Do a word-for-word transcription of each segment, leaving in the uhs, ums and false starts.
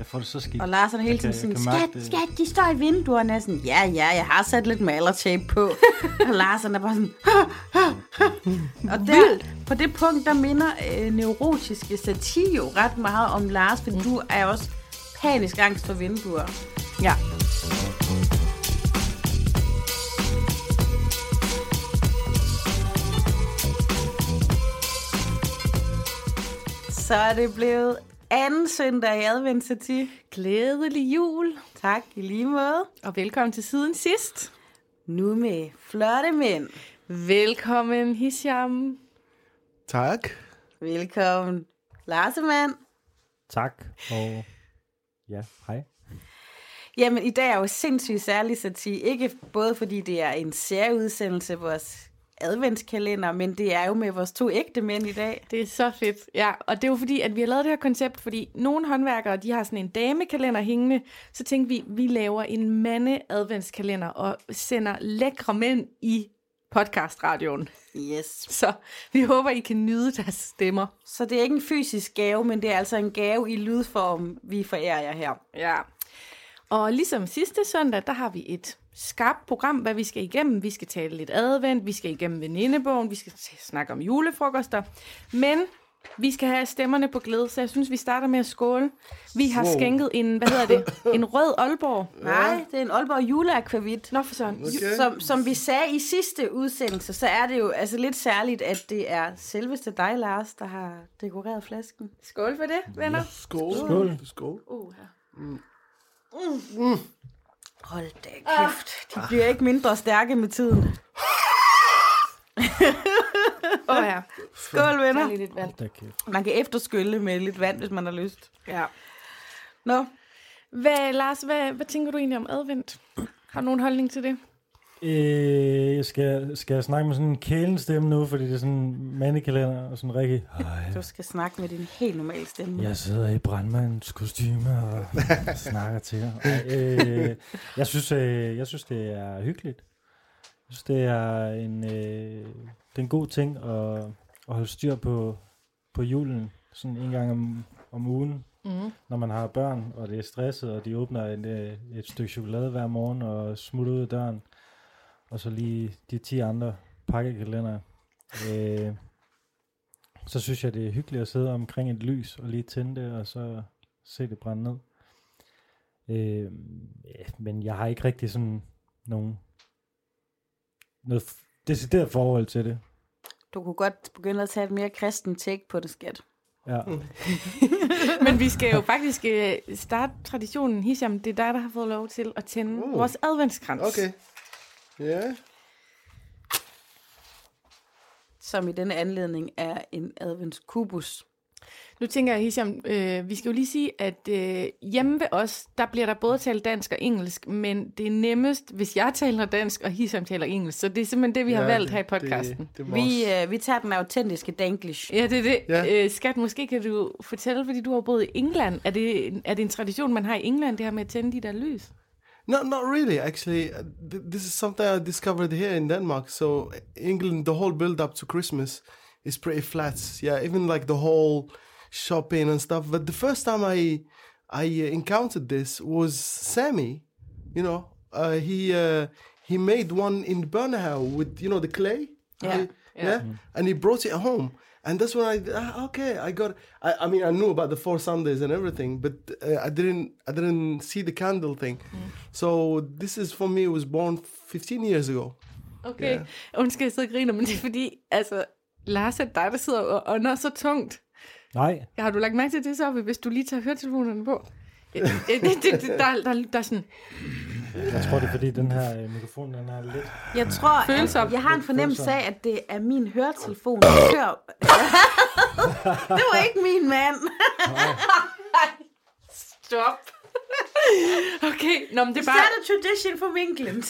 Jeg får det så skidt. Og Lars er hele tiden sådan, skat, skat, de står i vinduerne. Og sådan, ja, ja, jeg har sat lidt malertape på. Og Lars er bare sådan, ha, ha, ha. Og der, på det punkt, der minder øh, neurotiske satir jo ret meget om Lars, for mm. du er også panisk angst for vinduer. Ja. Så er det blevet anden søndag i adventssatir. Glædelig jul. Tak, i lige måde. Og velkommen til siden sidst. Nu med flotte mænd. Velkommen, Hisham. Tak. Velkommen, Larsemand. Tak, og ja, hej. Jamen, i dag er jo sindssygt særlig satir. Ikke både fordi det er en særudsendelse, vores adventskalender, men det er jo med vores to ægte mænd i dag. Det er så fedt. Ja, og det er jo fordi, at vi har lavet det her koncept, fordi nogle håndværkere, de har sådan en damekalender hængende, så tænkte vi, vi laver en mande-adventskalender og sender lækre mænd i podcastradioen. Yes. Så vi håber, I kan nyde deres stemmer. Så det er ikke en fysisk gave, men det er altså en gave i lydform, vi forærer jer her. Ja. Og ligesom sidste søndag, der har vi et skarpt program, hvad vi skal igennem. Vi skal tale lidt advent, vi skal igennem venindebogen, vi skal snakke om julefrokoster. Men vi skal have stemmerne på glæde, så jeg synes, vi starter med at skåle. Vi har wow. skænket en, hvad hedder det, en rød Aalborg. Ja. Nej, det er en Aalborg juleakvavit. Nå for sådan. Okay. Som, som vi sagde i sidste udsendelse, så er det jo altså lidt særligt, at det er selveste dig, Lars, der har dekoreret flasken. Skål for det, venner. Ja. Skål. Skål. Skål. Uh, ja. Mm. Mm. Hold da kæft, de bliver ikke mindre stærke med tiden. Åh oh, ja. Skål, venner. Lidt vand. Man kan efterskylle med lidt vand, hvis man har lyst. Ja. Nå. Hvad, Lars, hvad, hvad tænker du egentlig om advent? Har du nogen holdning til det? Øh, jeg skal, skal jeg snakke med sådan en kælenstemme nu, fordi det er sådan en mandekalender og sådan rigtig... Du skal snakke med din helt normale stemme. Jeg sidder i brandmands kostyme og snakker til jer. Ej, øh, jeg, synes, øh, jeg synes, det er hyggeligt. Jeg synes, det er en, øh, det er en god ting at, at holde styr på, på julen. Sådan en gang om, om ugen, mm. når man har børn, og det er stresset, og de åbner et, et stykke chokolade hver morgen og smutter ud af døren. Og så lige de ti andre pakkekalender. Øh, så synes jeg, det er hyggeligt at sidde omkring et lys og lige tænde det, og så se det brænde ned. Øh, ja, men jeg har ikke rigtig sådan nogen noget f- decideret forhold til det. Du kunne godt begynde at tage et mere kristen take på det, skat. Ja. Men vi skal jo faktisk uh, starte traditionen. Hisham, det er dig, der har fået lov til at tænde uh. vores adventskrans. Okay. Ja. Yeah. Som i denne anledning er en adventskubus. Nu tænker jeg, Hisham, øh, vi skal jo lige sige, at øh, hjemme ved os, der bliver der både talt dansk og engelsk, men det er nemmest, hvis jeg taler dansk, og Hisham taler engelsk. Så det er simpelthen det, vi har ja, valgt her i podcasten. Det, det vi, øh, vi tager den autentiske danglish. Ja, det er det. Ja. Øh, Skat, måske kan du fortælle, fordi du har boet i England. Er det, er det en tradition, man har i England, det her med at tænde de der lys? No, not really. Actually, this is something I discovered here in Denmark. So England, the whole build up to Christmas is pretty flat. Yeah, even like the whole shopping and stuff. But the first time I I encountered this was Sammy. You know, uh, he uh, he made one in Burnham with you know the clay. Yeah, yeah, yeah. yeah? Mm. And he brought it home. And that's when I ah, okay I got I, I mean I knew about the four Sundays and everything, but uh, I didn't I didn't see the candle thing. Mm. So this is for me was born fifteen years ago. Okay, yeah. Undskyld, jeg sidder og griner, men det er fordi, altså, Lars er dig, der sidder og ånder så tungt. Nej. Har du lagt mærke til det så, hvis du lige tager høretelefonerne på? det, det, det, der, der, der er sådan... Jeg tror, det er fordi, den her øh, mikrofon, den er lidt... Jeg tror, Følsom. at jeg har en fornemmelse af, at det er min høretelefon, der kører. Det var ikke min mand. Stop. Okay, nå, men det er Is bare... that a tradition from England?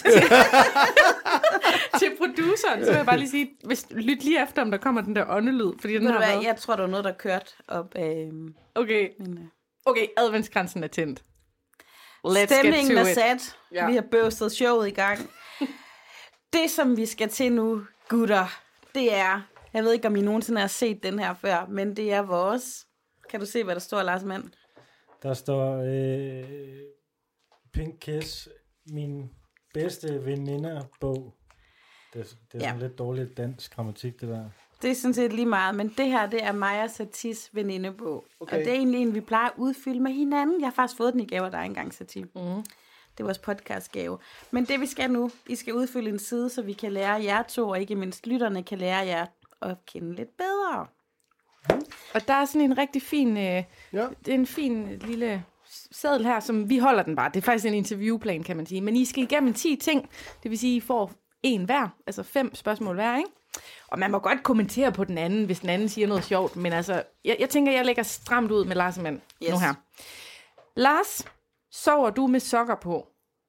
Til produceren, så vil jeg bare lige sige, hvis, lyt lige efter, om der kommer den der åndelyd. Fordi den Ved du har hvad, været... jeg tror, der var noget, der kørte op af... Okay, Min, uh... okay, adventskransen er tændt. Let's Stemningen er get to it. sat. Ja. Vi har bøvstet showet i gang. Det, som vi skal til nu, gutter, det er... Jeg ved ikke, om I nogensinde har set den her før, men det er vores... Kan du se, hvad der står, Lars Mand? Der står øh, Pink Kiss, min bedste veninder-bog. Det, det er Ja. sådan lidt dårligt dansk grammatik, det der. Det er sådan set lige meget, men det her, det er Maja Satis venindebog. Okay. Og det er egentlig en, vi plejer at udfylde med hinanden. Jeg har faktisk fået den i gave af dig engang, Satis. Mm. Det er vores podcastgave. Men det vi skal nu, I skal udfylde en side, så vi kan lære jer to, og ikke mindst lytterne kan lære jer at kende lidt bedre. Og der er sådan en rigtig fin, øh, Ja. det er en fin lille seddel her, som vi holder den bare. Det er faktisk en interviewplan, kan man sige. Men I skal igennem ti ting, det vil sige, I får en hver, altså fem spørgsmål hver, ikke? Og man må godt kommentere på den anden, hvis den anden siger noget sjovt, men altså, jeg, jeg tænker, jeg lægger stramt ud med Lars og Mand Yes. nu her. Lars, sover du med sokker på?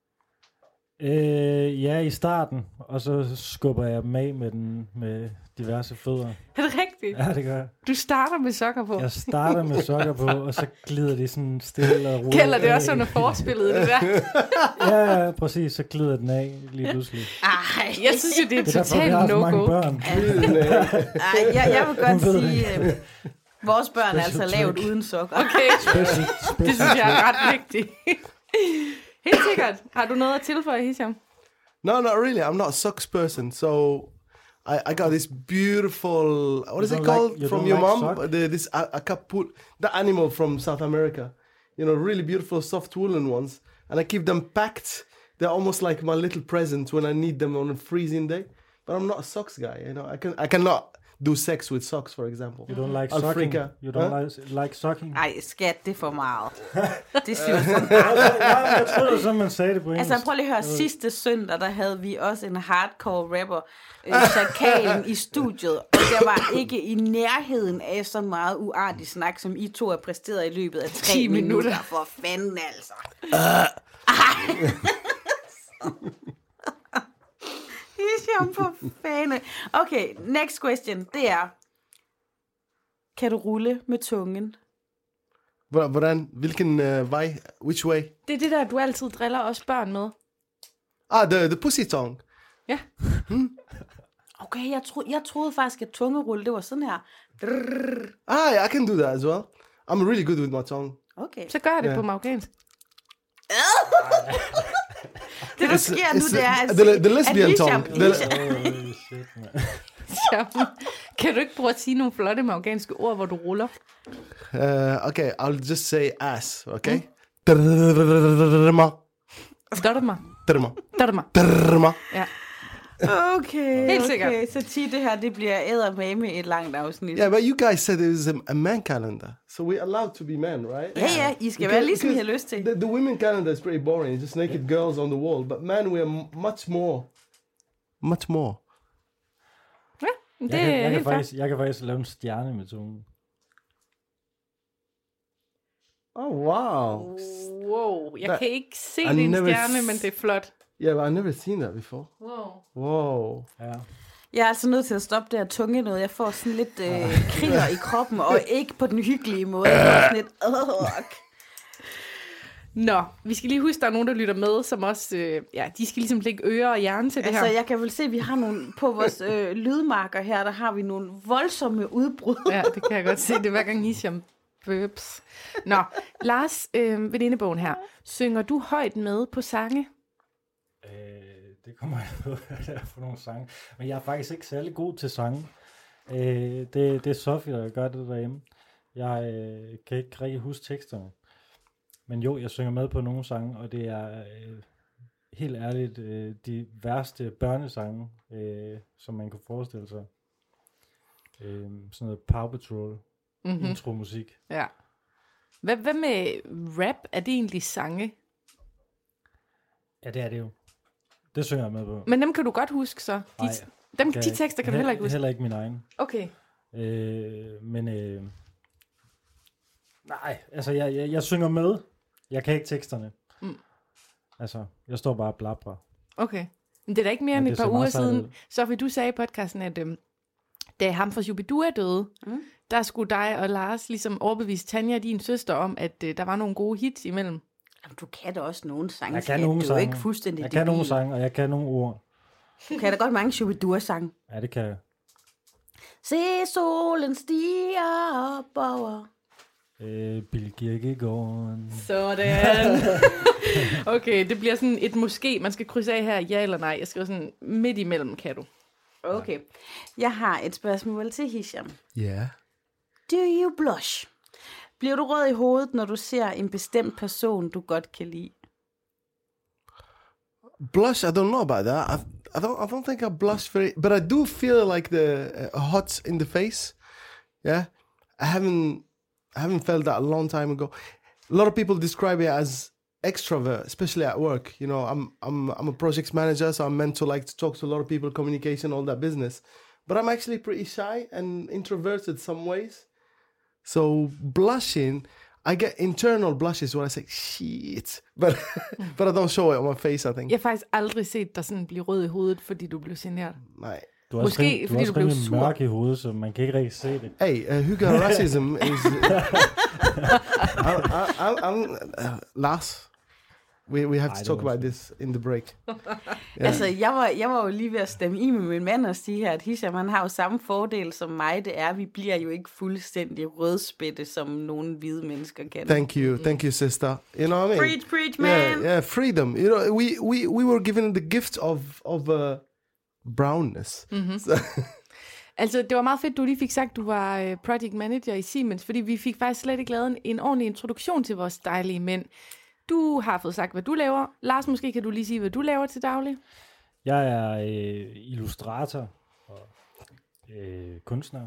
Øh, ja, i starten, og så skubber jeg dem af med, den, med diverse fødder. Er det rigtigt? Ja, det gør jeg. Du starter med sokker på. Jeg starter med sokker på, og så glider de sådan stille og roligt. Gælder det af. også sådan forspillet, det der? Ja, ja, præcis, så glider den af lige pludselig. Ej, Jeg synes jo, det er Det er derfor, vi har totalt så mange no-go. børn. Ej, jeg, jeg vil godt Hun ved det sige, øh, vores børn er altså Special lavet trick. uden sokker. Okay, Special, special det synes jeg er ret vigtigt. Helt sikkert. Har du noget at tilføje, Hisham? No, not really. I'm not a socks person. So I, I got this beautiful, what is You it don't called like- you from don't your like mom? sock? The, this a- acapulco, the animal from South America. You know, really beautiful soft woolen ones. And I keep them packed. They're almost like my little presents when I need them on a freezing day. But I'm not a socks guy. You know, I can I cannot do sex with socks, for example. You don't like I'll sucking? freak out. You don't Huh? like, like sucking? Ej, skat, det er for meget. Det synes jeg. Ja, jeg troede, så man sagde det på engelsk. Altså prøv lige at høre, sidste søndag, der havde vi også en hardcore rapper, øh, Chakalen, i studiet, og der var ikke i nærheden af så meget uartig snak, som I to har præsteret i løbet af tre ti minutter. minutter. For fanden altså. Ej. Hisham, for fanden. Okay, next question, det er, kan du rulle med tungen? Hvor- Hvordan, hvilken uh, vej, which way? Det er det der, du altid driller os børn med. Ah, the, the pussy tongue. Ja. Okay, jeg, tro, jeg troede faktisk, at tungerulle, det var sådan her. Drrrr. Ah, yeah, I can do that as well. I'm really good with my tongue. Okay. Så gør jeg det Ja. på marokkansk. Det, der sker nu, it's det er, at, the- the lesbian at Hisham, tongue. The- Hisham, Holy shit, man. Jamen, kan du ikke prøve at sige nogle flotte marokkanske ord, hvor du ruller? Uh, okay, I'll just say ass, okay? Drrrma, Dotterma. drrrma, Dotterma. drrrma. Ja. okay, Helt okay. sikkert. Så ti, det her, det bliver eddermame et langt afsnit. Yeah, but you guys said it was a, a man calendar, so we're allowed to be men, right? Ja, ja, I skal være ligesom I har lyst til. The, the women calendar is pretty boring, just naked girls on the wall, but men, we are m- much more. Much more. Ja, det Jeg kan, er jeg, kan helt fair. faktisk, jeg kan faktisk lave en stjerne med tungen. Oh, wow. Wow, jeg Der- kan ikke se I din never stjerne, s- men det er flot. Yeah, but I've never seen that before. Wow. Whoa. Ja. Jeg er altså nødt til at stoppe det her tunge noget. Jeg får sådan lidt øh, kriller i kroppen, og ikke på den hyggelige måde. Jeg får sådan lidt, øh, Nå, vi skal lige huske, der er nogen, der lytter med, som også, øh, ja, de skal ligesom lægge ører og hjerne til det Altså, her. jeg kan vel se, at vi har nogle, på vores øh, lydmarker her, der har vi nogle voldsomme udbrud. Ja, det kan jeg godt se. Det er hver gang Hisham burps. Nå, Lars, øh, venindebogen her. Synger du højt med på sange? Øh, det kommer jeg på, hvad det er for nogle sange. Men jeg er faktisk ikke særlig god til sange. Øh, det, det er Sofie, der gør det derhjemme. Jeg øh, kan ikke rigtig huske teksterne. Men jo, jeg synger med på nogle sange, og det er øh, helt ærligt øh, de værste børnesange, øh, som man kunne forestille sig. Øh, sådan noget Paw Patrol, Mhm. mm-hmm. intro-musik. Ja. Hvad, hvad med rap? Er det egentlig sange? Ja, det er det jo. Det synger jeg med på. Men dem kan du godt huske så? De, Nej, dem, Kan de jeg tekster kan du heller ikke huske? Heller ikke min egen. Okay. Øh, men øh, nej, altså jeg, jeg, jeg synger med. Jeg kan ikke teksterne. Mm. Altså, jeg står bare og blabrer. Okay. Men det er da ikke mere Men end det et ser par meget uger sejt siden. ud. Sofie, du sagde i podcasten, at øhm, da ham fra Shubidua døde, Mm. der skulle dig og Lars ligesom overbevise Tanja, din søster, om, at øh, der var nogle gode hits imellem. Jamen, du kan da også nogle sange. Jeg kan skat. nogle Du er jo sange. ikke fuldstændig Jeg kan nogle debil. sange, og jeg kan nogle ord. Du kan da godt mange Shubidua-sange. Ja, det kan jeg. Se solen stiger op over. Øh, Bill Kirkegaard. Sådan. Okay, det bliver sådan et måske. Man skal krydse af her, ja eller nej. Jeg skriver sådan midt imellem, kan du. Okay. Jeg har et spørgsmål til Hisham. Ja. Yeah. Do you blush? Bliver du rød i hovedet, når du ser en bestemt person, du godt kan lide? Blush, I don't know about that. I, I don't. I don't think I blush very, but I do feel like the uh, hot in the face. Yeah, I haven't. I haven't felt that a long time ago. A lot of people describe it as extrovert, especially at work. You know, I'm I'm I'm a project manager, so I'm meant to like to talk to a lot of people, communication, all that business. But I'm actually pretty shy and introverted some ways. So blushing, I get internal blushes when I say shit, but but I don't show it on my face, I think. Jeg har faktisk aldrig set dig sådan blive rød i hovedet, fordi du blev generet. Nej. Du er Måske, også rim, fordi du, du er blev også sur. mørk i hovedet, så man kan ikke rigtig se det. Hey, uh, Hugo racism is... I'm, I'm, I'm, uh, Lars, we, we have Ej, to det talk var about sådan. this in the break. Yeah. Altså, jeg var, jeg var jo lige ved at stemme i med min mand og sige her, at Hisham, han har jo samme fordel som mig. Det er, at vi bliver jo ikke fuldstændig rødspætte, som nogle hvide mennesker kan. Thank you, thank you, sister. You know what I mean? Preach, preach, man! Yeah, yeah, freedom. You know, we, we, we were given the gift of, of uh, brownness. Mm-hmm. So, Altså, det var meget fedt, du lige fik sagt, du var øh, project manager i Siemens, fordi vi fik faktisk slet ikke lavet en, en ordentlig introduktion til vores dejlige mænd. Du har fået sagt, hvad du laver. Lars, måske kan du lige sige, hvad du laver til daglig? Jeg er øh, illustrator og øh, kunstner,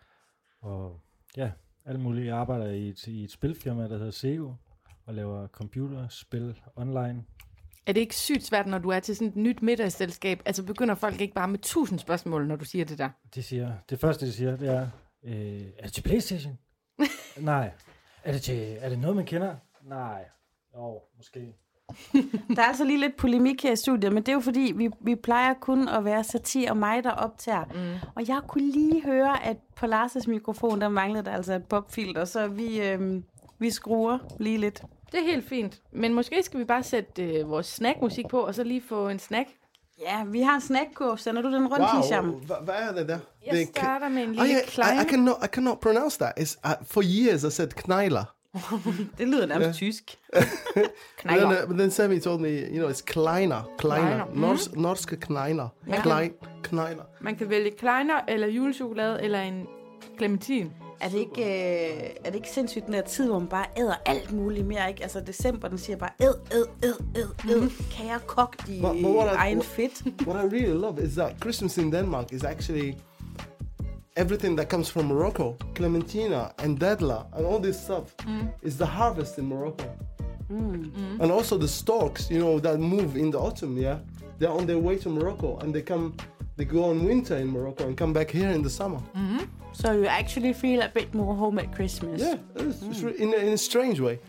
og ja, alt muligt. Jeg arbejder i et, i et spilfirma, der hedder Sego, og laver computerspil online. Er det ikke sygt svært, når du er til sådan et nyt middagsselskab? Altså begynder folk ikke bare med tusind spørgsmål, når du siger det der? De siger, det første, de siger, det er, øh, er det til PlayStation? Nej. Er det, til, er det noget, man kender? Nej. Jo, måske. Der er altså lige lidt polemik her i studiet, men det er jo fordi, vi, vi plejer kun at være Satir og mig, der optager. Mm. Og jeg kunne lige høre, at på Lars' mikrofon, der manglede der altså et popfilter, så vi, øh, vi skruer lige lidt. Det er helt fint. Men måske skal vi bare sætte øh, vores snackmusik på, og så lige få en snack. Ja, vi har en snackkurv. Sender du den rundt, wow, Hisham? hva- hvad er det der? Jeg Det er- starter med en Oh, lille yeah, klein. I, I, cannot, I cannot pronounce that. It's, uh, for years I said knejler. Det lyder nærmest Ja. tysk. But Knejler. then, uh, but then Sammy told me, you know, it's kleiner, kleiner, Kleiner. Mhm. Nors, norske knejler, Ja. Klein, knejler. Man kan vælge kleiner, eller julechokolade, eller en clementin. Er det ikke, øh, er det ikke sindssygt den der tid, hvor man bare æder alt muligt mere, ikke? Altså december, den siger bare, æd, æd, æd, æd, æd, kære kogt i But- but what I- egen what- fedt. What I really love is that Christmas in Denmark is actually everything that comes from Morocco, clementina and dadla and all this stuff is the harvest in Morocco. And also the storks, you know, that move in the autumn, yeah, they're on their way to Morocco and they come, they go on winter in Morocco and come back here in the summer. So you actually feel a bit more home at Christmas. Yeah, it's, it's re- in, a, in a strange way.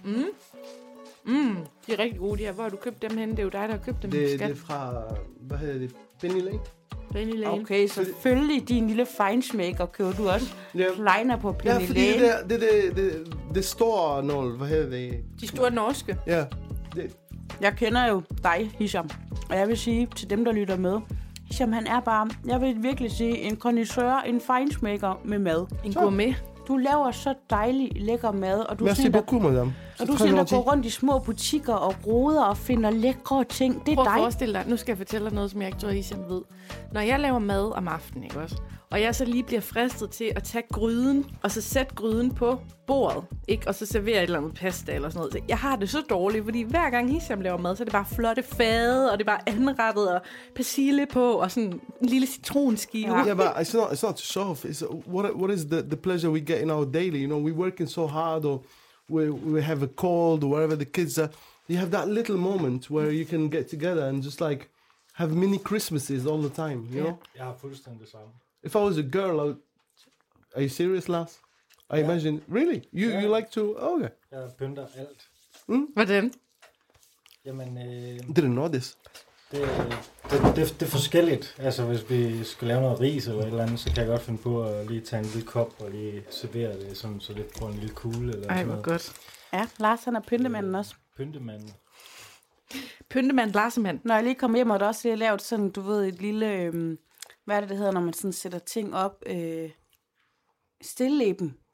Mm, de er rigtig gode, de her. Hvor har du købt dem henne? Det er jo dig, der har købt dem. Det, skat. det er fra, hvad hedder det, Penny Lane? Penny Lane. Okay, selvfølgelig din lille feinschmecker køber du også. Ja. Kleiner på Ja, Penny fordi Lane. det, er- det, det, det, det store nål, hvad hedder det? De store norske. Ja, det, Jeg kender jo dig, Hisham. Og jeg vil sige til dem, der lytter med, Hisham, han er bare, jeg vil virkelig sige, en connoisseur, en feinschmecker med mad. En gourmet. Du laver så dejlig lækker mad, og du er merci sådan, der, beaucoup, madame. og du er sådan, der går rundt i små butikker og roder og finder lækre ting. Det er Prøv at dig. forestille dig, nu skal jeg fortælle dig noget, som jeg ikke tror, Hisham ved. Når jeg laver mad om aftenen, ikke også? Og jeg så lige bliver fristet til at tage gryden, og så sætte gryden på bordet, ikke? Og så servere et eller andet pasta eller sådan noget. Så jeg har det så dårligt, fordi hver gang Hisham laver mad, så er det bare flotte fade, og det er bare anrettet, og persille på, og sådan en lille citronskive. Ja. Yeah, but it's not. It's not to show off. It's uh, what. What is the, the pleasure we get in our daily? You know, we're working so hard, or we we have a cold, or wherever the kids are. You have that little moment where you can get together and just like have mini Christmases all the time. You know. Jeg har fuldstændig det samme. If I was a girl, I would, are you serious, Lars? I Yeah. imagine. Really, you Yeah. you like to? Okay. Jeg pynter alt. Hvordan? Jamen, øh, Didn't know this. det, det, det, det er forskelligt. Altså, hvis vi skal lave noget ris eller et eller andet, så kan jeg godt finde på at lige tage en lille kop og lige servere det, sådan, så det får en lille kugle eller Ej, sådan hvor noget. godt. Ja, Lars, han er pyntemanden også. Pyntemanden. Pyntemand, Larsemand. Når jeg lige kom hjem, og der også lige lavet sådan, du ved, et lille, øhm, hvad er det, det hedder, når man sådan sætter ting op, øh, stilleben.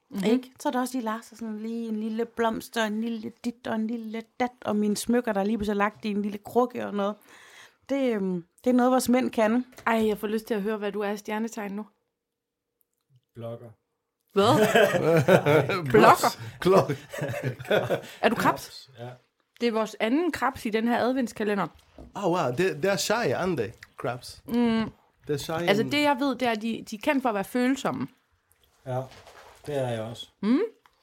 Mm-hmm. Ikke? Så er der også lige Lars, og sådan lige en lille blomst, og en lille dit, og en lille dat, og mine smykker, der er lige pludselig lagt i en lille krukke og noget. Det, øhm, det er noget, vores mænd kan. Ej, jeg får lyst til at høre, hvad du er i stjernetegn nu. Blogger. Hvad? Blogger? Klokke. Er du krebs? Ja. Det er vores anden krebs i den her adventskalender. Oh wow, they, they're shy, aren't they? Crabs. Mm. They're shy. Altså and- det, jeg ved, det er, at de, de er kendt for at være følsomme. Ja, det er jeg også. Mm?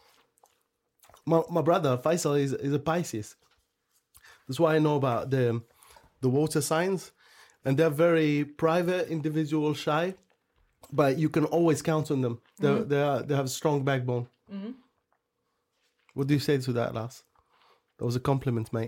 My, my brother Faisal is, is a Pisces. That's why I know about the the water signs, and they're very private, individual, shy, but you can always count on them. They mm. they are, they have a strong backbone. Mm. What do you say to that, Lars? That was a compliment, mate.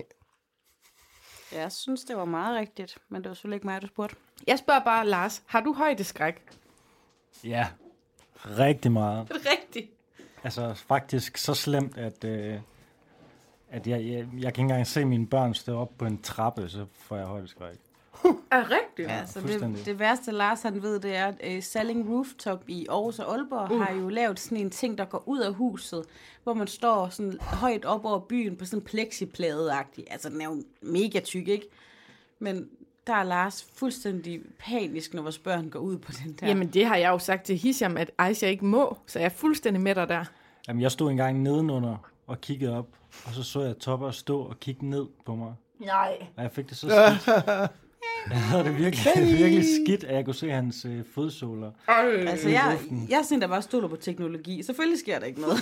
Jeg synes, det var meget rigtigt, men det var selvfølgelig ikke mig, du spurgte. Jeg spørger bare, Lars, har du højdeskræk? Ja, rigtig meget. Rigtigt. Altså faktisk så slemt, at, øh, at jeg, jeg, jeg kan ikke engang se mine børn stå op på en trappe, så får jeg højdeskræk. Er rigtigt? Ja, så fuldstændig. det, det værste, Lars han ved, det er, at uh, Selling Rooftop i Aarhus og Aalborg uh. har jo lavet sådan en ting, der går ud af huset, hvor man står sådan højt op over byen på sådan en plexiplade-agtig. Altså, den er jo mega tyk, ikke? Men der er Lars fuldstændig panisk, når vores børn går ud på den der. Jamen, det har jeg jo sagt til Hisham, at Aisha ikke må, så jeg er fuldstændig med dig der. Jamen, jeg stod engang nedenunder og kiggede op, og så så jeg Topper stå og kigge ned på mig. Nej. Og jeg fik det så skidt. Jeg havde det virkelig, virkelig skidt, at jeg kunne se hans øh, fodsåler. Altså, jeg, jeg er sådan, der bare stoler på teknologi. Selvfølgelig sker der ikke noget.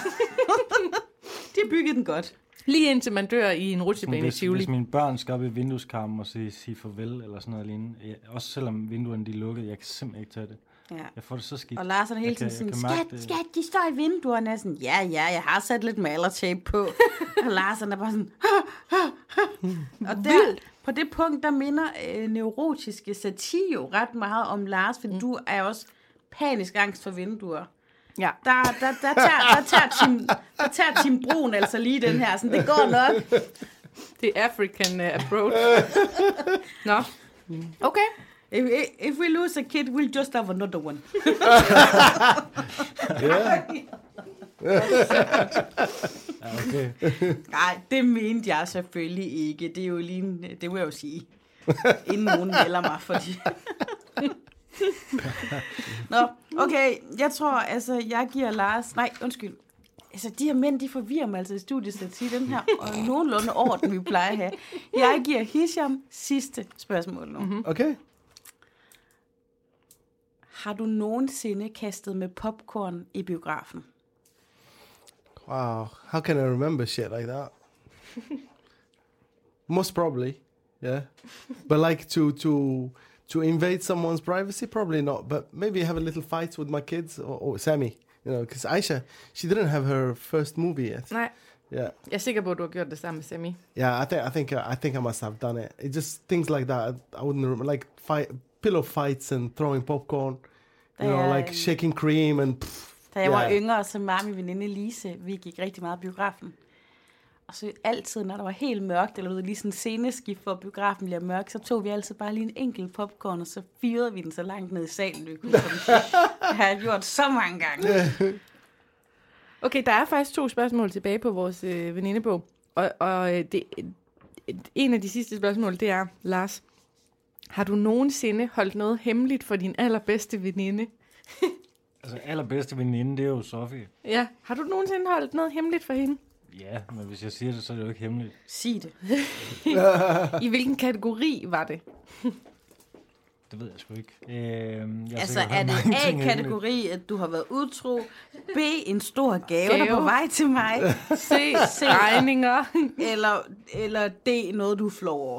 De har bygget den godt. Lige indtil man dør i en rutsjebane i Hvis, Tivoli. hvis mine børn skal op i vindueskarmen og sige, sige farvel, eller sådan noget lignende. Jeg, også selvom vinduerne de er lukket, jeg kan simpelthen ikke tage det. Ja. Jeg får det så skidt. Og Lars er hele Jeg tiden kan- sådan, jeg kan mærke skat, det." skat, de står i vinduerne. Jeg er sådan, ja, ja, jeg har sat lidt malertape på. Og Lars han er bare sådan, og der, på det punkt, der minder øh, neurotiske satir jo ret meget om Lars, for mm. du er også panisk angst for vinduer. Ja. Der, der, der, der, tager, der, tager Tim, der tager Tim Brun altså lige den her, sådan, det går nok. Det er African uh, approach. Nå. Okay. If, if we lose a kid, we'll just have another one. Yeah. Ja, okay. Nej, det mente jeg selvfølgelig ikke. Det er jo lige, en- det vil jeg jo sige. Inden nogen melder mig, fordi... Nå, okay, jeg tror, altså, jeg giver Lars... Nej, undskyld. Altså, de her mænd, de forvirrer mig altså i studiet til at sige den her, og nogenlunde orden, vi plejer at have. Jeg giver Hisham sidste spørgsmål nu. Mm-hmm. Okay. Har du nogensinde kastet med popcorn i biografen? Wow. How can I remember shit like that? Most probably, yeah. But like to to to invade someone's privacy, probably not. But maybe have a little fight with my kids or, or Sammy, you know, because Aisha, she didn't have her first movie yet. Nej. Yeah, Jeg er sikker på, at du har gjort det samme med Sammy. yeah. I think I think uh, I think I must have done it. It just things like that. I, I wouldn't remember, like fight, pillow fights and throwing popcorn. You know, Ja, like shaking cream and. Pff, Da jeg var Ja. yngre, så mig og min veninde Lise, vi gik rigtig meget i biografen. Og så altid, når der var helt mørkt, eller ved, lige sådan en sceneskift, hvor biografen bliver mørk, så tog vi altid bare lige en enkelt popcorn, og så fyrede vi den så langt ned i salen, vi kunne. Det har jeg gjort så mange gange. Okay, der er faktisk to spørgsmål tilbage på vores øh, venindebog. Og, og øh, det, øh, en af de sidste spørgsmål, det er, Lars, har du nogensinde holdt noget hemmeligt for din allerbedste veninde? Altså, allerbedste veninde, det er jo Sofie. Ja, har du nogensinde holdt noget hemmeligt for hende? Ja, men hvis jeg siger det, så er det jo ikke hemmeligt. Sig det. I hvilken kategori var det? Det ved jeg sgu ikke. Øh, jeg har Altså, sikkert er hørt det mange ting hemmeligt. A-kategori, at du har været utro? B, en stor gave, Gave. der er på vej til mig? C, regninger. Eller, eller D, noget du flår over?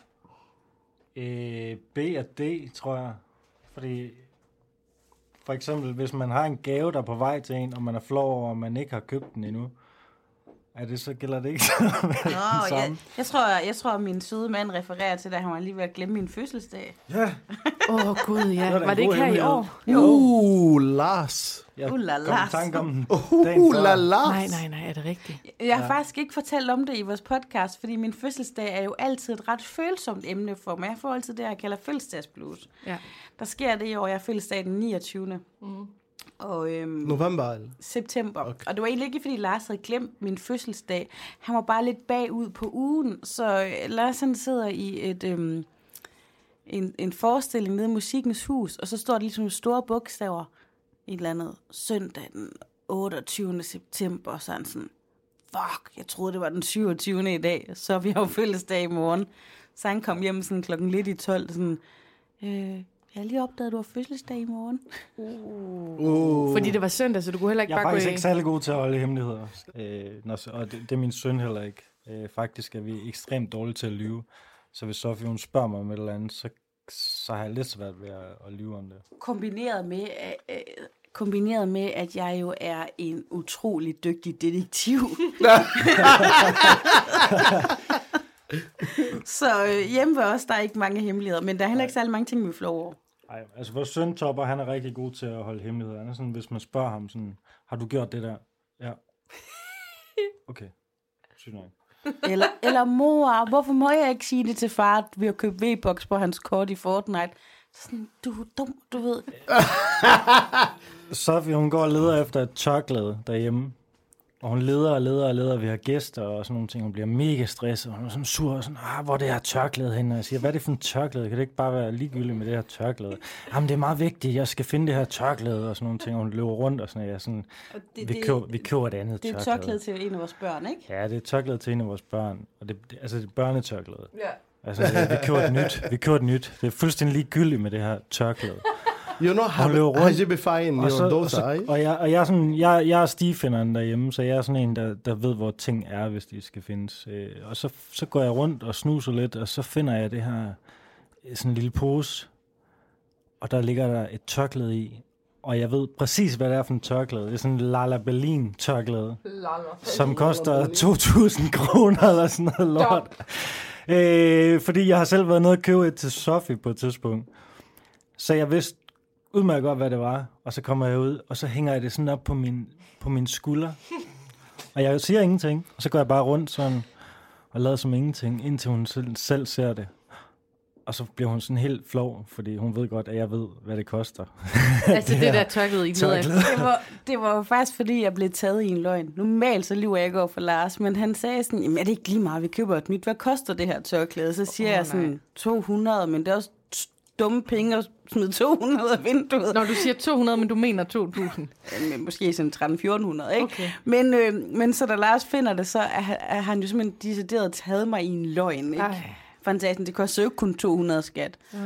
Øh, B og D, tror jeg. Fordi, for eksempel, hvis man har en gave, der er på vej til en, og man er flov over, og man ikke har købt den endnu, er det så gælder det ikke så Nå, den jeg, samme? jeg, tror, jeg tror, at min søde mand refererer til, at han var lige ved at glemme min fødselsdag. Ja. Åh, oh, gud, ja. Det var da Var en det ikke god her i hemmelighed. år? Ooh, Lars. Jeg Uh, la, kom la. i tanke om den Ooh, dagen la, før. Lars. Nej, nej, nej, er det rigtigt? Jeg har ja. faktisk ikke fortalt om det i vores podcast, fordi min fødselsdag er jo altid et ret følsomt emne for mig. Jeg får altid det, jeg kalder fødselsdagsblues. Ja. Der sker det i år, jeg er fødselsdag den niogtyvende Mm. Og, øhm, November? Eller? September. Okay. Og det var egentlig ikke, fordi Lars havde glemt min fødselsdag. Han var bare lidt bagud på ugen, så øh, Lars han sidder i et, øhm, en, en forestilling nede i Musikkens Hus, og så står der ligesom store bogstaver, et eller andet søndag den otteogtyvende september, og sådan sådan, fuck, jeg troede, det var den syvogtyvende i dag, så vi har jo fødselsdag i morgen. Så han kom hjem sådan klokken lidt i tolv, sådan, øh, jeg har lige opdaget, at du har fødselsdag i morgen. Uh. Uh. Fordi det var søndag, så du kunne heller ikke Jeg er bare gå faktisk i... ikke særlig god til at holde hemmeligheder. Øh, når, og det, det er min søn heller ikke. Øh, faktisk er vi ekstremt dårlige til at lyve. Så hvis Sofie hun spørger mig om et eller andet, så, så har jeg lidt svært ved at, at lyve om det. Kombineret med, øh, kombineret med, at jeg jo er en utrolig dygtig detektiv. Så øh, hjemme ved os, der er ikke mange hemmeligheder, men der er heller ikke særlig mange ting, vi flår over. Ej, altså vores søn Topper, han er rigtig god til at holde hemmeligheder. Han er sådan, hvis man spørger ham sådan, har du gjort det der? Ja. Okay. Sygt nok. Eller, eller mor, hvorfor må jeg ikke sige det til far, at vi har købt V-Box på hans kort i Fortnite? Sådan, du er dum, du ved. Sofie, hun går og leder efter et tørklæde derhjemme. Og hun leder og leder og leder, vi har gæster og sådan nogle ting. Hun bliver mega stresset, og hun er sådan sur og sådan, ah, hvor er det her tørklæde henne? Og jeg siger, hvad er det for en tørklæde? Kan det ikke bare være ligegyldigt med det her tørklæde? Jamen, det er meget vigtigt, jeg skal finde det her tørklæde og sådan nogle ting. Og hun løber rundt og sådan, og jeg er sådan, det, vi, det, køber, vi køber et andet det er tørklæde. et tørklæde til en af vores børn, ikke? Ja, det er et tørklæde til en af vores børn. Og det, det, altså, det er børnetørklæde. Ja. Altså, vi køber et nyt. Vi køber et nyt. Det er fuldstændig ligegyldigt med det her tørklæde. You're not hajibifying your daughter, og jeg, og jeg er sådan, jeg, jeg er stigefinderen derhjemme, så jeg er sådan en, der, der ved, hvor ting er, hvis de skal findes. Øh, og så, så går jeg rundt og snuser lidt, og så finder jeg det her, sådan en lille pose, og der ligger der et tørklæde i, og jeg ved præcis, hvad det er for en tørklæde. Det er sådan en Lala Berlin tørklæde, som koster to tusind kroner eller sådan noget lort. Øh, fordi jeg har selv været nede og købe et til Sofie på et tidspunkt. Så jeg vidste udmærket godt, hvad det var. Og så kommer jeg ud, og så hænger jeg det sådan op på min, på min skulder. Og jeg siger ingenting. Og så går jeg bare rundt sådan, og lader som ingenting, indtil hun selv, selv ser det. Og så bliver hun sådan helt flov, fordi hun ved godt, at jeg ved, hvad det koster. Altså det, det der tørklæde i tørklæde. Det var, det var jo faktisk, fordi jeg blev taget i en løgn. Normalt så lyver jeg ikke over for Lars, men han sagde sådan, jamen er det ikke lige meget, vi køber et nyt. Hvad koster det her tørklæde? Så siger oh, jeg sådan, nej. to hundrede, men det er også dumme penge at smide to hundrede af vinduet. Når du siger to hundrede, men du mener to tusind. Men måske sådan tretten til fjorten hundrede, ikke? Okay. Men, øh, men så da Lars finder det, så er, er han jo simpelthen decideret taget mig i en løgn, ikke? Ej. For han sagde sådan, det koster jo kun to hundrede skat. Ah.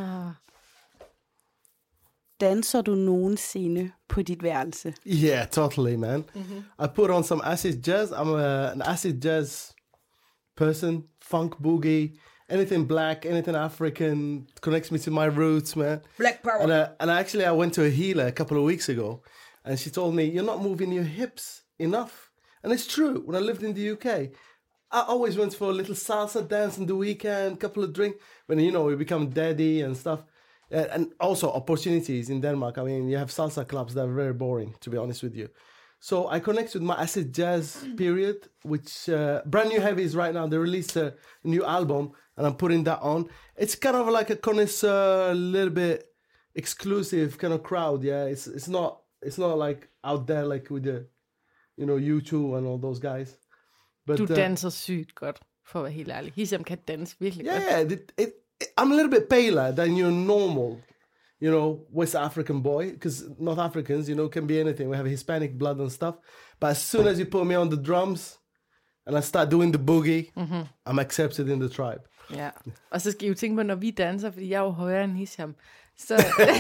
Danser du nogensinde på dit værelse? Yeah, totally, man. Mm-hmm. I put on some acid jazz. I'm a, an acid jazz person. Funk, boogie, anything black, anything African connects me to my roots, man. Black power. And, uh, and actually, I went to a healer a couple of weeks ago, and she told me, you're not moving your hips enough. And it's true. When I lived in the U K, I always went for a little salsa dance in the weekend, couple of drinks, when, you know, we become daddy and stuff. Uh, and also opportunities in Denmark. I mean, you have salsa clubs that are very boring, to be honest with you. So I connect with my acid jazz period, which uh, Brand New Heavies right now, they released a new album, and I'm putting that on. It's kind of like a connoisseur, a little bit exclusive kind of crowd, yeah. It's it's not it's not like out there like with the, you know, U two and all those guys. But, du uh, danser sygt godt, for at være helt ærlig. Hisham kan danse virkelig yeah, godt. Yeah, it, it, it, I'm a little bit paler than your normal, you know, West African boy, because North Africans, you know, can be anything. We have Hispanic blood and stuff. But as soon as you put me on the drums, and I start doing the boogie, mm-hmm. I'm accepted in the tribe. Ja, og så skal I jo tænke på, når vi danser, fordi jeg er jo højere end Hisham, så,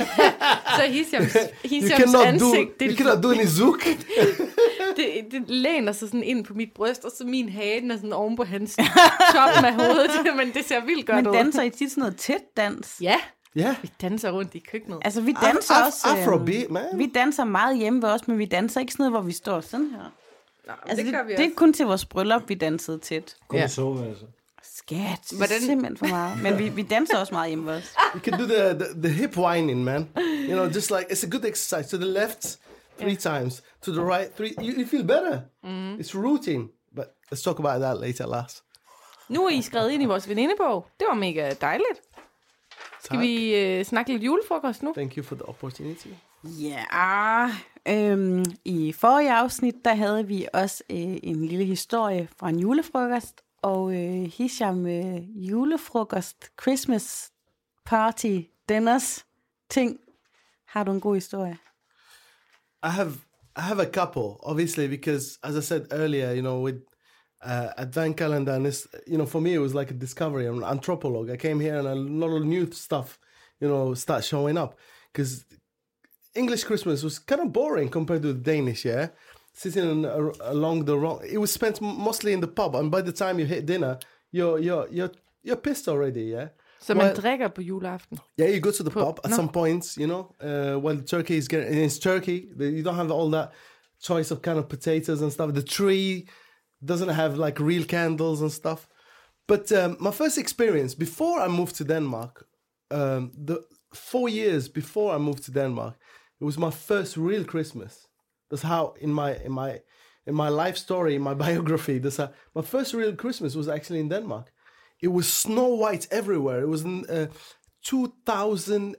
så Hishams, Hishams ansigt, do, det, you cannot do any zouk. det, det læner sig sådan ind på mit bryst, og så min hage er sådan oven på hans toppen af hovedet, men det ser vildt godt ud. Men danser I tit sådan noget tæt dans? Ja, yeah. Vi danser rundt i køkkenet. Altså vi danser Af- også... Afrobeat, man. Vi danser meget hjemme ved os, men vi danser ikke sådan noget, hvor vi står sådan her. Nå, altså, det, det, det, det er kun til vores bryllup, vi dansede tæt. Kun ja. sove, altså. Skat, det er simpelthen for meget. Men vi, vi danser også meget hjemme ved os. You can do the, the, the hip whining, man. You know, just like, it's a good exercise. To the left, three yeah. times. To the right, three. You, you feel better. Mm. It's routine. But let's talk about that later, Lars. Nu er I skrevet ind i vores venindebog. Det var mega dejligt. Skal tak. vi øh, snakke lidt julefrokost nu? Thank you for the opportunity. Ja, yeah. Øhm, I forrige afsnit, der havde vi også øh, en lille historie fra en julefrokost, og øh, Hisham, øh, julefrokost, Christmas party, dinners, ting. Har du en god historie? I have I have a couple, obviously, because as I said earlier, you know, with uh, Advent calendar, and this, you know, for me it was like a discovery. I'm an anthropologist. I came here and a lot of new stuff, you know, start showing up. Because English Christmas was kind of boring compared to the Danish, yeah? Sitting in, uh, along the wrong... It was spent mostly in the pub, and by the time you hit dinner, you're you're you're you're pissed already, yeah? Så man Well, drikker på juleaften? yeah, you go to the På- pub at no. some points, you know, uh, while the turkey is getting... And it's turkey. the- You don't have all that choice of kind of potatoes and stuff. The tree doesn't have, like, real candles and stuff. But um, my first experience, before I moved to Denmark, um, the four years before I moved to Denmark, it was my first real Christmas. That's how in my in my in my life story, in my biography, that's how my first real Christmas was actually in Denmark. It was snow white everywhere. It was in uh, two thousand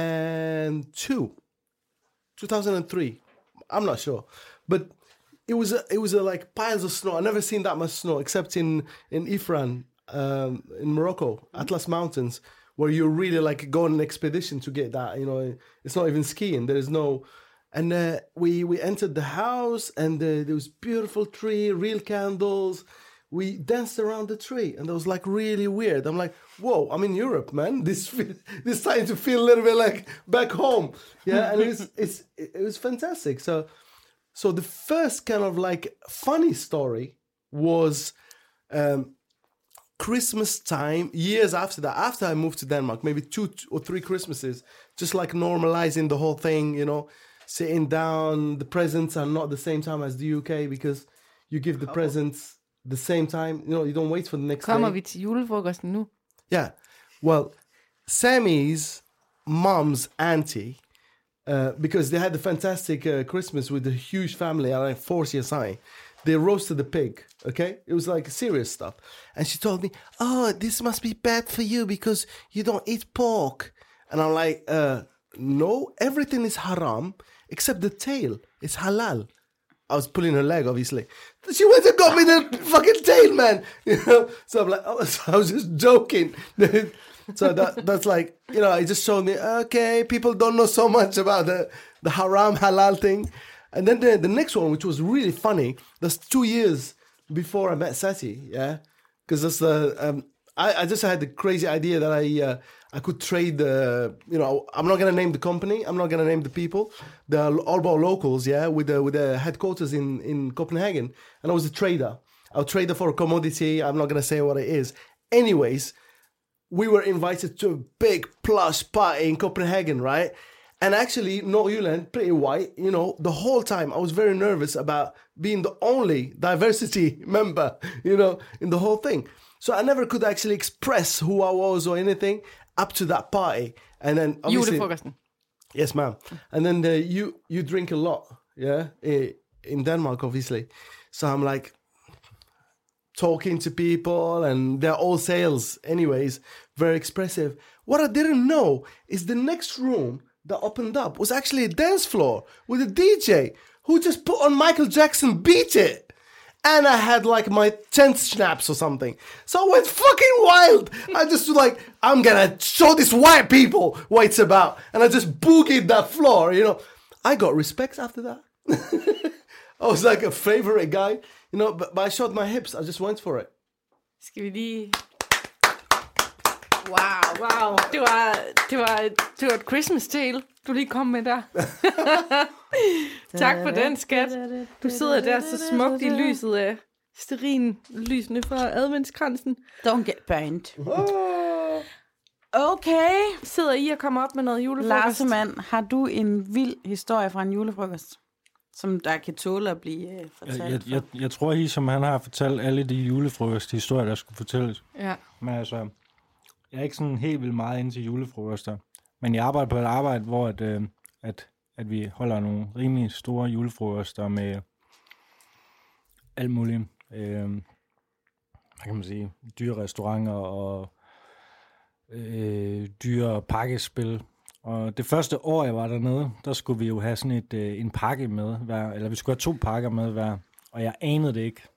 two, two thousand three. I'm not sure, but it was a, it was a, like piles of snow. I never seen that much snow except in in Ifran, um, in Morocco, Atlas Mountains, where you really like go on an expedition to get that. You know, it's not even skiing. There is no, and uh, we we entered the house, and uh, there was beautiful tree, real candles. We danced around the tree, and it was like really weird. I'm like, whoa, I'm in Europe, man. This feel, this starting to feel a little bit like back home, yeah. And it's it's it was fantastic. So, so the first kind of like funny story was. Um, Christmas time, years after that, after I moved to Denmark, maybe two or three Christmases, just like normalizing the whole thing, you know, sitting down, the presents are not the same time as the U K because you give the presents the same time, you know, you don't wait for the next Kommer day. vi til julefrokosten nu? Yeah. Well, Sammy's mom's auntie, uh, because they had a fantastic uh, Christmas with a huge family, like four C S I, they roasted the pig, okay? It was like serious stuff. And she told me, oh, this must be bad for you because you don't eat pork. And I'm like, uh, no, everything is haram except the tail. It's halal. I was pulling her leg, obviously. She went and got me the fucking tail, man. You know? So I'm like, oh, so I was just joking. So that that's like, you know, it just showed me, okay, people don't know so much about the, the haram halal thing. And then the, the next one, which was really funny, that's two years before I met Sati, yeah? Because that's the, um, I, I just had the crazy idea that I uh, I could trade the, you know, I'm not going to name the company, I'm not going to name the people, the Aalborg locals, yeah, with the, with the headquarters in, in Copenhagen. And I was a trader. I was a trader for a commodity, I'm not going to say what it is. Anyways, we were invited to a big plush party in Copenhagen, right? And actually, Nordjylland, pretty white, you know, the whole time I was very nervous about being the only diversity member, you know, in the whole thing. So I never could actually express who I was or anything up to that party. And then obviously... Julefrokosten. Yes, ma'am. And then the, you you drink a lot, yeah, in Denmark, obviously. So I'm like talking to people and they're all sales anyways, very expressive. What I didn't know is the next room that opened up was actually a dance floor with a D J who just put on Michael Jackson Beat It. And I had like my tenth schnapps or something. So I went fucking wild. I just was like, I'm gonna show these white people what it's about. And I just boogied that floor, you know. I got respect after that. I was like a favorite guy, you know, but, but I showed my hips. I just went for it. Skal vi lige... Wow, wow. Det var, det var, det var et Christmas tale, du lige kom med der. Tak for den, skat. Du sidder der så smukt i lyset af stearin lysene fra adventskransen. Don't get burned. Okay. Sidder I og kommer op med noget julefrokost? Larsemann, har du en vild historie fra en julefrokost, som der kan tåle at blive uh, fortalt? Jeg, jeg, jeg, jeg tror, I som han har fortalt alle de julefrokosthistorier, der skulle fortælles. Ja. Men altså, jeg er ikke sådan helt vildt meget inde til julefrokoster. Men jeg arbejder på et arbejde, hvor at, øh, at, at vi holder nogle rimelig store julefrokoster med alt muligt. Øh, hvad kan man sige? Dyre restauranter og øh, dyre pakkespil Og det første år, jeg var dernede, der skulle vi jo have sådan et, øh, en pakke med hver, eller vi skulle have to pakker med hver, og jeg anede det ikke.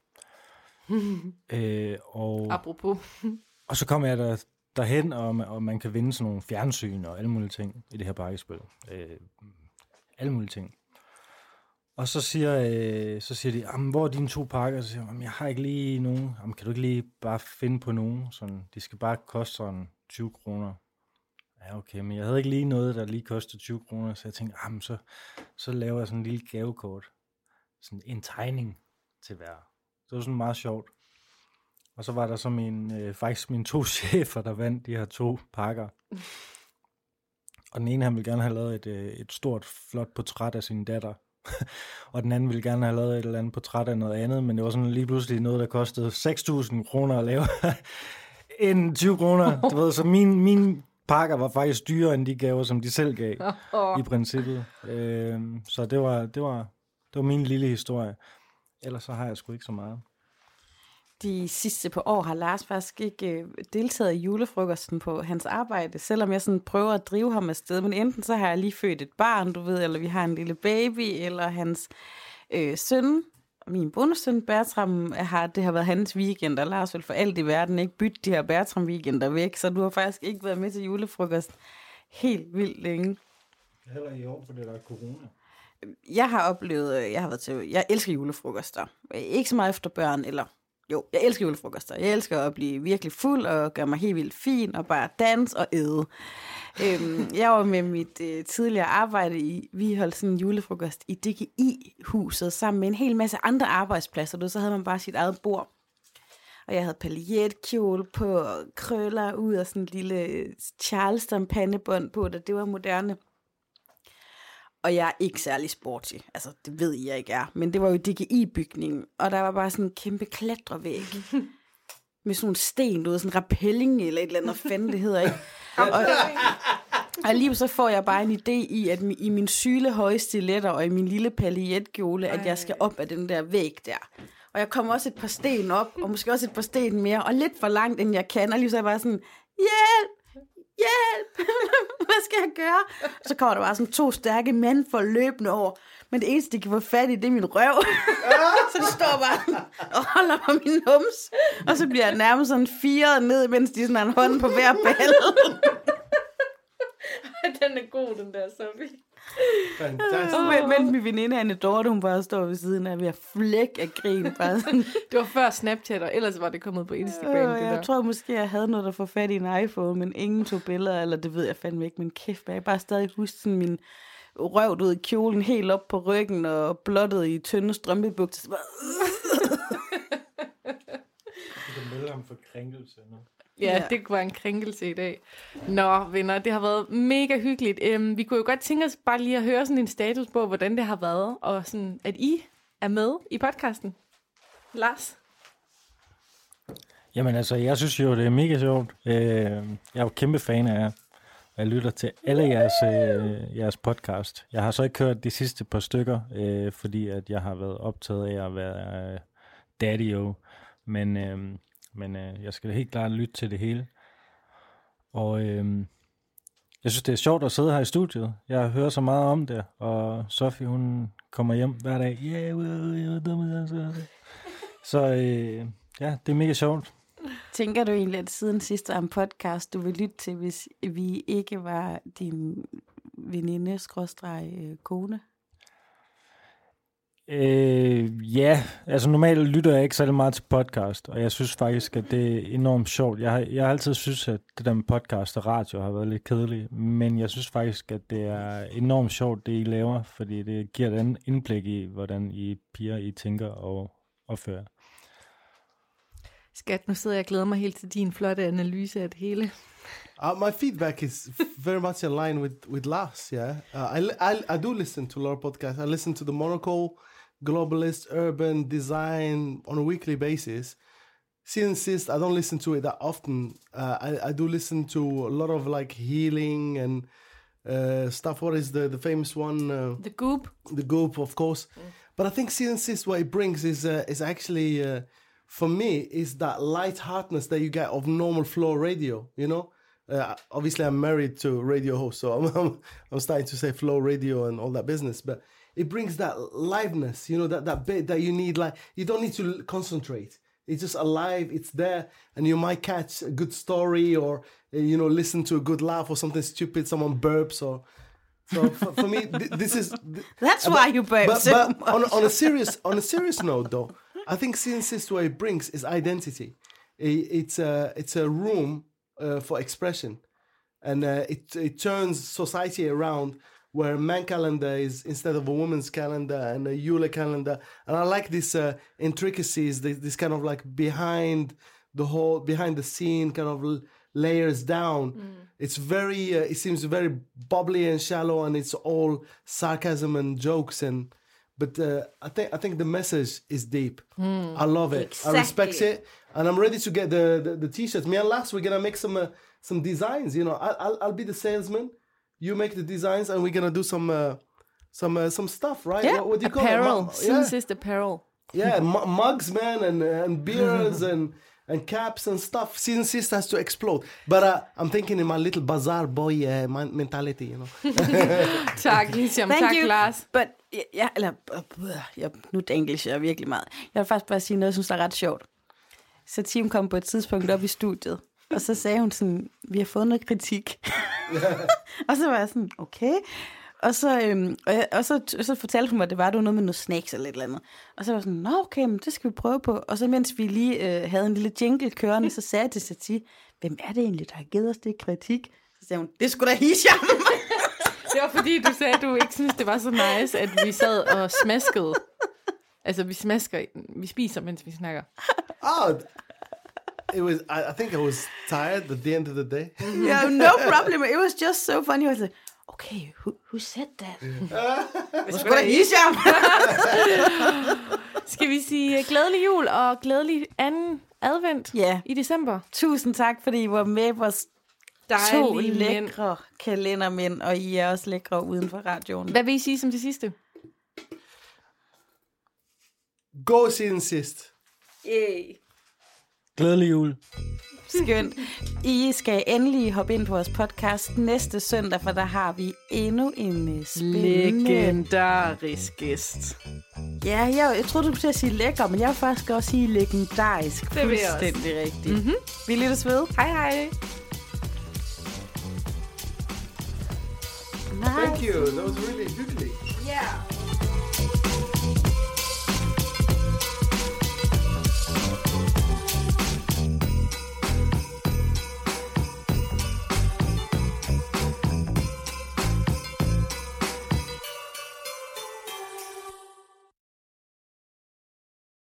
øh, og, Apropos. og så kom jeg der, derhen, og, og man kan vinde sådan nogle fjernsyn og alle mulige ting i det her pakkespil. Øh, alle mulige ting. Og så siger, øh, så siger de, hvor er dine to pakker? Så siger jeg, jeg har ikke lige nogen. Jamen, kan du ikke lige bare finde på nogen? Sådan, de skal bare koste sådan tyve kroner. Ja, okay, men jeg havde ikke lige noget, der lige kostede tyve kroner, så jeg tænkte, jamen, så, så laver jeg sådan en lille gavekort. Sådan en tegning til hver. Det var sådan meget sjovt. Og så var der så min, øh, faktisk mine to chefer, der vandt de her to pakker. Og den ene, han ville gerne have lavet et, øh, et stort, flot portræt af sin datter. Og den anden ville gerne have lavet et eller andet portræt af noget andet, men det var sådan lige pludselig noget, der kostede seks tusind kroner at lave. End tyve kroner. Du ved, så min, min pakker var faktisk dyrere end de gaver, som de selv gav, i princippet. Øh, så det var, det, var, det var min lille historie. Ellers så har jeg sgu ikke så meget. De sidste par år har Lars faktisk ikke øh, deltaget i julefrokosten på hans arbejde, selvom jeg sådan prøver at drive ham afsted. Men enten så har jeg lige født et barn, du ved, eller vi har en lille baby, eller hans øh, søn, min bonussøn Bertram, har, det har været hans weekend, og Lars vil for alt i verden ikke bytte de her Bertram-weekender væk, så du har faktisk ikke været med til julefrokost helt vildt længe. Heller i år, fordi der er corona. Jeg har oplevet, jeg har været til, jeg elsker julefrokoster. Ikke så meget efter børn, eller jo, jeg elsker julefrokoster. Jeg elsker at blive virkelig fuld og gøre mig helt vildt fin og bare danse og æde. øhm, jeg var med mit øh, tidligere arbejde i, vi holdt sådan en julefrokost i D G I-huset sammen med en hel masse andre arbejdspladser. Du, så havde man bare sit eget bord. Og jeg havde paljetkjole på, og krøller ud og sådan en lille Charleston-pandebånd på, da det var moderne. Og jeg er ikke særlig sporty. Altså, det ved I, jeg ikke er. Men det var jo D G I-bygningen. Og der var bare sådan en kæmpe klatrevæg. med sådan nogle sten, du ved, sådan en rappelling eller et eller andet, fanden det hedder, ikke? Og, og lige så får jeg bare en idé i, at i min syle høje stiletter og i min lille paljetkjole, at jeg skal op af den der væg der. Og jeg kommer også et par sten op, og måske også et par sten mere, og lidt for langt, end jeg kan. Og lige så er jeg bare sådan, hjælp! Hjælp! Hvad skal jeg gøre? Og så kommer der bare sådan to stærke mænd for løbende over. Men det eneste, de kan få fat i, det er min røv. Så de står bare og holder på min nums. Og så bliver jeg nærmest sådan firet ned, mens de sådan har en hånd på hver balle. Den er god, den der, Sofie. Fantastisk. Og men, men min veninde, Anne Dorte, hun bare står ved siden af, ved at flække af grin. Bare sådan. Det var før Snapchat, og ellers var det kommet på Instagram. Øh, det jeg der. tror måske, jeg havde noget, der får fat i en iPhone, men ingen tog billeder, eller det ved jeg fandme ikke. Men kæft, jeg bare stadig huske sådan min røv ud i kjolen, helt op på ryggen, og blottet i tynde strømpebukser. Du kan melde ham for krænkelse nu. Ja, Ja. det var en krænkelse i dag. Nå, venner, det har været mega hyggeligt. Um, vi kunne jo godt tænke os bare lige at høre sådan en status på, hvordan det har været, og sådan, at I er med i podcasten. Lars? Jamen altså, jeg synes jo, det er mega sjovt. Øh, jeg er jo kæmpe fan af jer. Jeg lytter til alle jeres, øh, jeres podcast. Jeg har så ikke hørt de sidste par stykker, øh, fordi at jeg har været optaget af at være øh, daddy-o. Men, øh, men øh, jeg skal helt klart lytte til det hele. Og øh, jeg synes, det er sjovt at sidde her i studiet. Jeg hører så meget om det, og Sofie, hun kommer hjem hver dag. Yeah, så øh, ja, det er mega sjovt. Tænker du egentlig, at siden sidste om podcast, du vil lytte til, hvis vi ikke var din veninde, skråstreg, øh, kone? Øh, ja, altså normalt lytter jeg ikke særlig meget til podcast, og jeg synes faktisk, at det er enormt sjovt. Jeg har, jeg har altid synes, at det der med podcast og radio har været lidt kedeligt, men jeg synes faktisk, at det er enormt sjovt, det I laver, fordi det giver et andet indblik i, hvordan I piger, I tænker og opfører. Skat, nu sidder jeg og glæder mig helt til din flotte analyse af det hele. Uh, my feedback is very much in line with, with Lars, yeah. Uh, I, I, I do listen to a lot of podcasts. I listen to the Monocle, Globalist, Urban, Design on a weekly basis. Since since I don't listen to it that often, uh, I, I do listen to a lot of like healing and uh, stuff. What is the, the famous one? Uh, The Goop. the Goop, of course. Mm. But I think Season six, what it brings is uh, is actually, uh, for me, is that lightheartedness that you get of normal flow radio, you know? Uh, obviously, I'm married to radio host, so I'm, I'm I'm starting to say flow radio and all that business. But it brings that liveness, you know, that that bit that you need. Like you don't need to concentrate. It's just alive. It's there, and you might catch a good story, or you know, listen to a good laugh or something stupid. Someone burps, or so for, for me, th- this is. Th- That's but, why you burp But, so but much. on on a serious on a serious note, though, I think Sin Sist what it brings is identity. It, it's a it's a room. Uh, for expression, and uh, it it turns society around where man calendar is instead of a woman's calendar and a Yule calendar, and I like these uh, intricacies, this, this kind of like behind the whole behind the scene kind of l- layers down. Mm. It's very uh, it seems very bubbly and shallow, and it's all sarcasm and jokes and. But uh, I think I think the message is deep. Mm, I love it. exactly. I respect it, and I'm ready to get the, the, the t-shirts. Me and Lars, we're gonna make some uh, some designs. You know, I, I'll I'll be the salesman. You make the designs, and we're gonna do some uh, some uh, some stuff, right? Yeah, what, what do you apparel. call it? Mu- Sin yeah, Sist apparel. yeah, m- mugs, man, and and beers and. And caps and stuff. Sin Sist has to explode. But uh, I'm thinking in my little bazaar boy uh, man- mentality, you know. Tak, Hisham. Thank Tak, you. Lars. But, ja, eller, jeg, nu English er virkelig meget. Jeg vil faktisk bare sige noget, jeg synes, der er ret sjovt. Så Tim kom på et tidspunkt op i studiet, og så sagde hun sådan, vi har fået noget kritik. Og så var jeg sådan, okay. Og så, øhm, og, jeg, og så, og så fortalte hun mig, at det var, det var noget med noget snacks eller et eller andet. Og så var jeg sådan, nå okay, men det skal vi prøve på. Og så mens vi lige øh, havde en lille jingle kørende, så sagde jeg til Satie, hvem er det egentlig, der har givet os det kritik? Så sagde hun, det skulle da Hisham. Det var fordi, du sagde, at du ikke synes det var så nice, at vi sad og smaskede. Altså, vi smasker, vi spiser, mens vi snakker. Oh, it was. I, I think I was tired at the end of the day. Yeah, no problem. It was just so funny. I was like, okay, who, who said that? Det skulle da Hisham. Skal vi sige glædelig jul og glædelig anden advent Ja. i december? Tusind tak, fordi I var med på to Dejlige mænd. lækre kalendermænd, og I er også lækre uden for radioen. Hvad vil I sige som det sidste? Go Sin Sist. Yay. Glædelig jul. Skønt. I skal endelig hoppe ind på vores podcast næste søndag, for der har vi endnu en spændende... Legendarisk gæst. Ja, jeg, jeg troede, du skulle til at sige lækker, men jeg vil faktisk også sige legendarisk. Det vil jeg også. Fuldstændig rigtigt. Mm-hmm. Vi lyttes ved. Hej hej. Thank you. That was really hyggelig. Yeah.